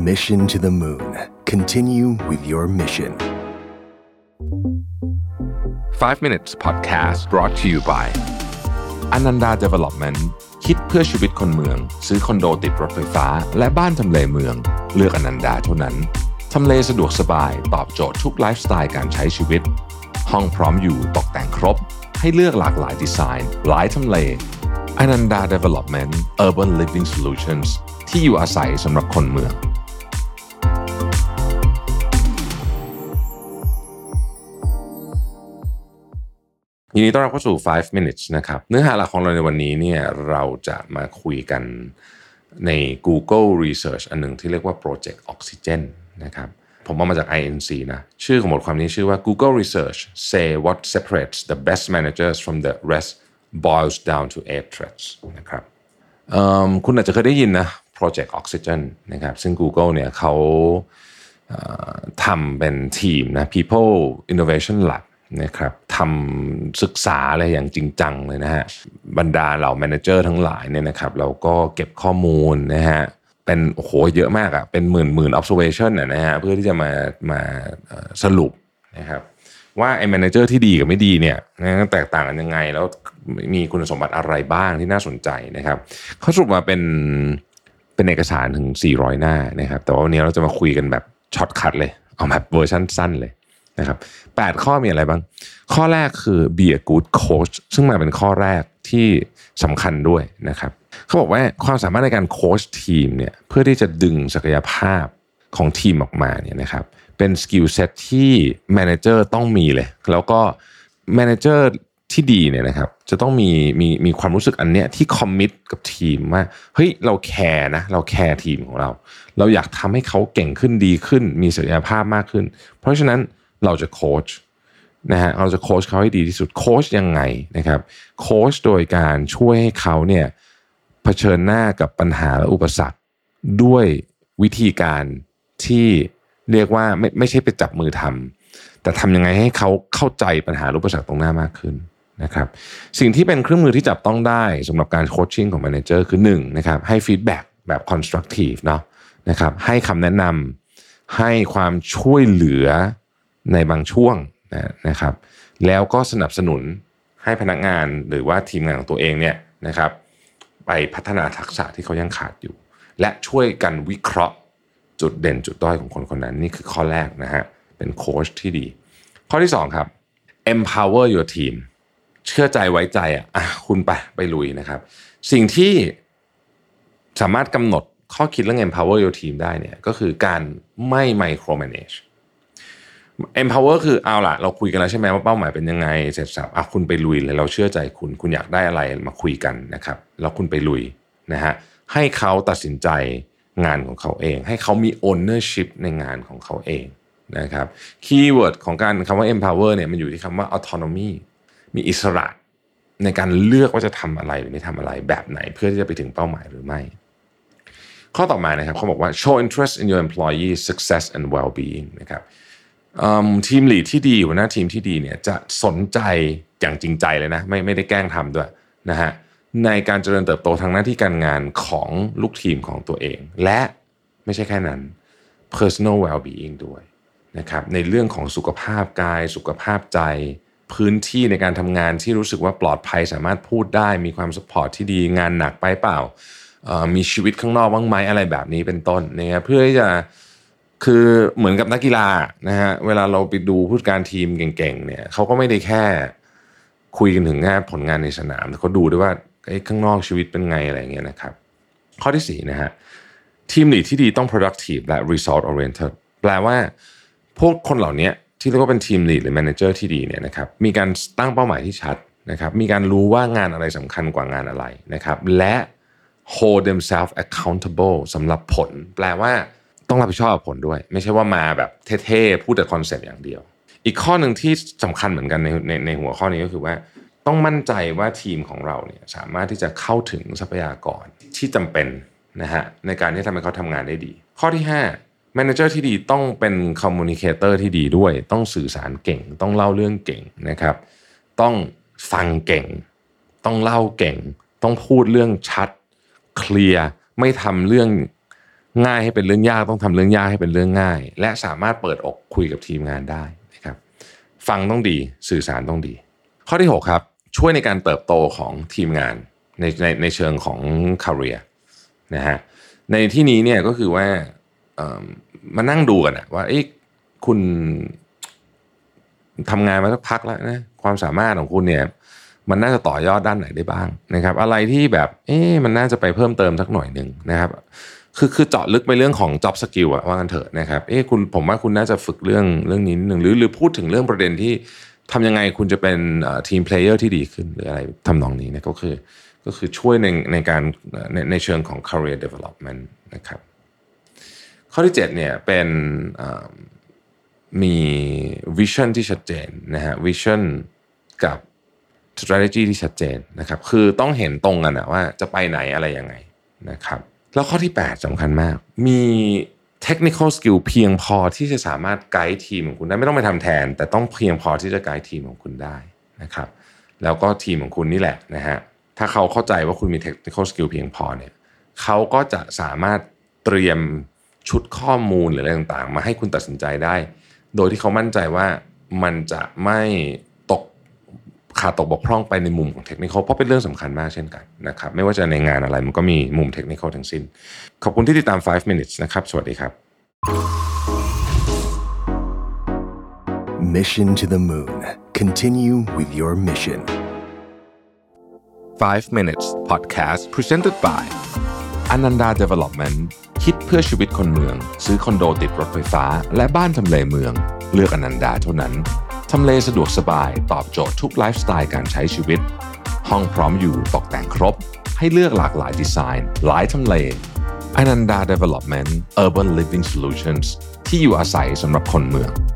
Mission to the Moon. Continue with your mission. 5 minutes podcast brought to you by Ananda Development คิดเพื่อชีวิตคนเมืองซื้อคอนโดติดรถไฟฟ้าและบ้านทำเลเมืองเลือกอนันดาเท่านั้นทำเลสะดวกสบายตอบโจทย์ทุกไลฟ์สไตล์การใช้ชีวิตห้องพร้อมอยู่ตกแต่งครบให้เลือกหลากหลายดีไซน์หลายทำเลอนันดา Development Urban Living Solutions ที่อยู่อาศัยสำหรับคนเมืองยินดีต้อนรับเข้าสู่ 5 minutes นะครับเนื้อหาหลักของเราในวันนี้เนี่ยเราจะมาคุยกันใน Google Research อันหนึ่งที่เรียกว่า Project Oxygen นะครับผมเอามาจาก INC นะชื่อของบทความนี้ชื่อว่า Google Research say what separates the best managers from the rest boils down to 8 traits นะครับคุณอาจจะเคยได้ยินนะ Project Oxygen นะครับซึ่ง Google เนี่ยเขาทำเป็นทีมนะ People Innovation Labนะครับทำศึกษาอะไรอย่างจริงจังเลยนะฮะบรรดาเหล่าแมเนเจอร์ทั้งหลายเนี่ยนะครับเราก็เก็บข้อมูลนะฮะเป็นโอ้โหเยอะมากอ่ะเป็นหมื่น observation นะฮะเพื่อที่จะมาสรุปนะครับว่าไอ้แมเนเจอร์ที่ดีกับไม่ดีเนี่ยแตกต่างกันยังไงแล้วมีคุณสมบัติอะไรบ้างที่น่าสนใจนะครับเขาสรุปมาเป็นเอกสารถึง400หน้านะครับแต่ว่าวันนี้เราจะมาคุยกันแบบช็อตคัทเลยเอาแบบเวอร์ชันสั้นเลยนะครับ8ข้อมีอะไรบ้างข้อแรกคือ be a good coach ซึ่งมาเป็นข้อแรกที่สำคัญด้วยนะครับเขาบอกว่าความสามารถในการโค้ชทีมเนี่ยเพื่อที่จะดึงศักยภาพของทีมออกมาเนี่ยนะครับเป็นสกิลเซ็ตที่แมเนเจอร์ต้องมีเลยแล้วก็แมเนเจอร์ที่ดีเนี่ยนะครับจะต้องมีความรู้สึกอันเนี้ยที่คอมมิตกับทีมว่าเฮ้ยเราแคร์นะเราแคร์ทีมของเราอยากทำให้เขาเก่งขึ้นดีขึ้นมีศักยภาพมากขึ้นเพราะฉะนั้นเราจะโค้ชนะฮะเราจะโค้ชเขาให้ดีที่สุดโค้ชยังไงนะครับโค้ชโดยการช่วยให้เขาเนี่ยเผชิญหน้ากับปัญหาและอุปสรรคด้วยวิธีการที่เรียกว่าไม่ใช่ไปจับมือทำแต่ทำยังไงให้เขาเข้าใจปัญหาอุปสรรคตรงหน้ามากขึ้นนะครับสิ่งที่เป็นเครื่องมือที่จับต้องได้สำหรับการโคชชิ่งของแมเนเจอร์คือ1นะครับให้ฟีดแบ็กแบบ constructive เนาะนะครับให้คำแนะนำให้ความช่วยเหลือในบางช่วงนะครับแล้วก็สนับสนุนให้พนักงานหรือว่าทีมงานของตัวเองเนี่ยนะครับไปพัฒนาทักษะที่เขายังขาดอยู่และช่วยกันวิเคราะห์จุดเด่นจุดด้อยของคนคนนั้นนี่คือข้อแรกนะฮะเป็นโค้ชที่ดีข้อที่2ครับ empower your team เชื่อใจไว้ใจคุณไปลุยนะครับสิ่งที่สามารถกำหนดข้อคิดเรื่อง empower your team ได้เนี่ยก็คือการไม่ micromanage empower คือเอาล่ะเราคุยกันแล้วใช่ไหมว่าเป้าหมายเป็นยังไงเสร็จสับคุณไปลุยเลยเราเชื่อใจคุณอยากได้อะไรมาคุยกันนะครับแล้วคุณไปลุยนะฮะให้เขาตัดสินใจงานของเขาเองให้เขามี ownership ในงานของเขาเองนะครับคีย์เวิร์ดของการคำว่า empower เนี่ยมันอยู่ที่คำว่า autonomy มีอิสระในการเลือกว่าจะทำอะไรหรือไม่ทำอะไรแบบไหนเพื่อที่จะไปถึงเป้าหมายหรือไม่ข้อต่อมานะครับเขาบอกว่า show interest in your employees success and well-being นะครับทีมลีดที่ดีหัวหน้าทีมที่ดีเนี่ยจะสนใจอย่างจริงใจเลยนะไม่ได้แกล้งทำด้วยนะฮะในการเจริญเติบโตทางหน้าที่การงานของลูกทีมของตัวเองและไม่ใช่แค่นั้น personal well-being ด้วยนะครับในเรื่องของสุขภาพกายสุขภาพใจพื้นที่ในการทำงานที่รู้สึกว่าปลอดภัยสามารถพูดได้มีความซัพพอร์ตที่ดีงานหนักไปเปล่ามีชีวิตข้างนอกบ้างไหมอะไรแบบนี้เป็นต้นนะครับเพื่อที่จะคือเหมือนกับนักกีฬานะฮะเวลาเราไปดูผู้จัดการทีมเก่งๆเนี่ยเขาก็ไม่ได้แค่คุยกันถึงแค่ผลงานในสนามเขาดูด้วยว่าข้างนอกชีวิตเป็นไงอะไรอย่างเงี้ยนะครับข้อที่4นะฮะทีมลีดที่ดีต้อง productive และ result oriented แปลว่าพวกคนเหล่านี้ที่เรียกว่าเป็นทีมลีดหรือ manager ที่ดีเนี่ยนะครับมีการตั้งเป้าหมายที่ชัดนะครับมีการรู้ว่างานอะไรสำคัญกว่างานอะไรนะครับและ hold themselves accountable สำหรับผลแปลว่าต้องรับผิดชอบกับผลด้วยไม่ใช่ว่ามาแบบเท่ๆพูดแต่คอนเซ็ปต์อย่างเดียวอีกข้อหนึ่งที่สำคัญเหมือนกันในหัวข้อนี้ก็คือว่าต้องมั่นใจว่าทีมของเราเนี่ยสามารถที่จะเข้าถึงทรัพยากรที่จำเป็นนะฮะในการที่ทำให้เขาทำงานได้ดีข้อที่5 Manager ที่ดีต้องเป็น Communicator ที่ดีด้วยต้องสื่อสารเก่งต้องเล่าเรื่องเก่งนะครับต้องฟังเก่งต้องเล่าเก่งต้องพูดเรื่องชัดเคลียร์ไม่ทำเรื่องง่ายให้เป็นเรื่องยากต้องทำเรื่องยากให้เป็นเรื่องง่ายและสามารถเปิดอกคุยกับทีมงานได้นะครับฟังต้องดีสื่อสารต้องดีข้อที่6ครับช่วยในการเติบโตของทีมงานในเชิงของ career นะฮะในที่นี้เนี่ยก็คือว่ามานั่งดูกันว่าคุณทำงานมาสักพักแล้วนะความสามารถของคุณเนี่ยมันน่าจะต่อยอดด้านไหนได้บ้างนะครับอะไรที่แบบมันน่าจะไปเพิ่มเติมสักหน่อยนึงนะครับคือเจาะลึกไปเรื่องของ job skill อะว่ากันเถอะนะครับผมว่าคุณน่าจะฝึกเรื่องนี้นิดนึงหรือพูดถึงเรื่องประเด็นที่ทำยังไงคุณจะเป็นทีมเพลเยอร์ที่ดีขึ้นหรืออะไรทำนองนี้นะก็คือช่วยในการในเชิงของ career development นะครับข้อที่7เนี่ยเป็นมี vision ที่ชัดเจนนะฮะ vision กับ strategy ที่ชัดเจนนะครับคือต้องเห็นตรงกันนะว่าจะไปไหนอะไรยังไงนะครับแล้วข้อที่8สำคัญมากมี technical skill เพียงพอที่จะสามารถไกด์ทีมของคุณได้ไม่ต้องไปทำแทนแต่ต้องเพียงพอที่จะไกด์ทีมของคุณได้นะครับแล้วก็ทีมของคุณนี่แหละนะฮะถ้าเขาเข้าใจว่าคุณมี technical skill เพียงพอเนี่ยเขาก็จะสามารถเตรียมชุดข้อมูลหรืออะไรต่างๆมาให้คุณตัดสินใจได้โดยที่เขามั่นใจว่ามันจะไม่ขาดตกบกพร่องไปในมุมของเทคนิคเพราะเป็นเรื่องสำคัญมากเช่นกันนะครับไม่ว่าจะในงานอะไรมันก็มีมุมเทคนิคทั้งสิ้นขอบคุณที่ติดตาม5 minutes นะครับสวัสดีครับ Mission to the Moon. Continue with your mission. 5 minutes podcast presented by Ananda Development คิดเพื่อชีวิตคนเมืองซื้อคอนโดติดรถไฟฟ้าและบ้านทำเลเมืองเลือก Ananda เท่านั้นทำเลสะดวกสบายตอบโจทย์ทุกไลฟ์สไตล์การใช้ชีวิตห้องพร้อมอยู่ตกแต่งครบให้เลือกหลากหลายดีไซน์หลายทำเล Ananda Development Urban Living Solutions ที่อยู่อาศัยสำหรับคนเมือง